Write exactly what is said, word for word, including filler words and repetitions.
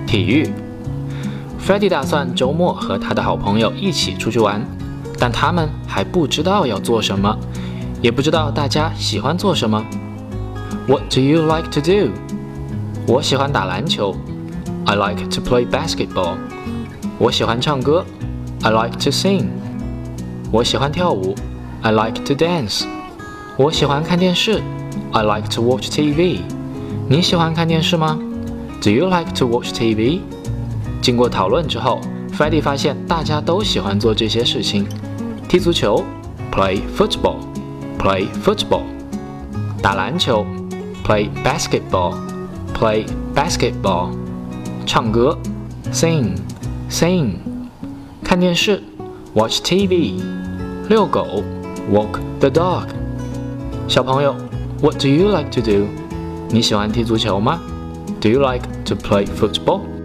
体育。Freddy 打算周末和他的好朋友一起出去玩，但他们还不知道要做什么，也不知道大家喜欢做什么。What do you like to do? 我喜欢打篮球。I like to play basketball. 我喜欢唱歌。I like to sing. 我喜欢跳舞。I like to dance. 我喜欢看电视。I like to watch T V. 你喜欢看电视吗？ Do you like to watch T V? 经过讨论之后 Freddy 发现大家都喜欢做这些事情。踢足球 Play football. Play football. 打篮球 Play basketball. Play basketball. 唱歌 Sing. Sing. 看电视 Watch T V. 遛狗 Walk the dog. 小朋友 What do you like to do? 你喜欢踢足球吗？ Do you like to play football?